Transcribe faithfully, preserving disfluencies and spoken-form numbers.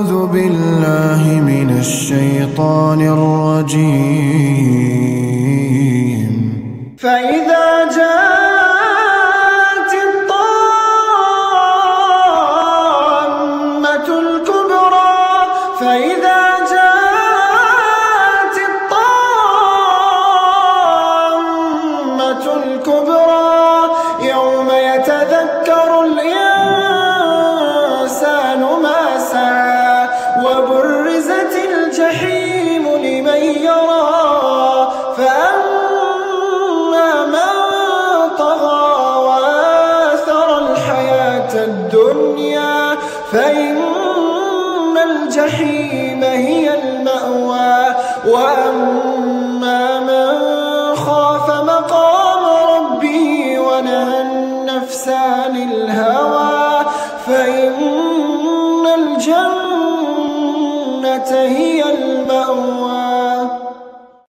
أعوذ بالله من الشيطان الرجيم. فإذا جاءت الطامة الكبرى فإذا جاءت الطامة الكبرى يوم يتذكر الإنسان ما سعى وبرزت الجحيم لمن يرى فأما من طغى وآثر الحياة الدنيا فإن الجحيم هي المأوى وأما من خاف مقام ربه ونهى النفس عن الهوى فإن الجنة هي المأوى.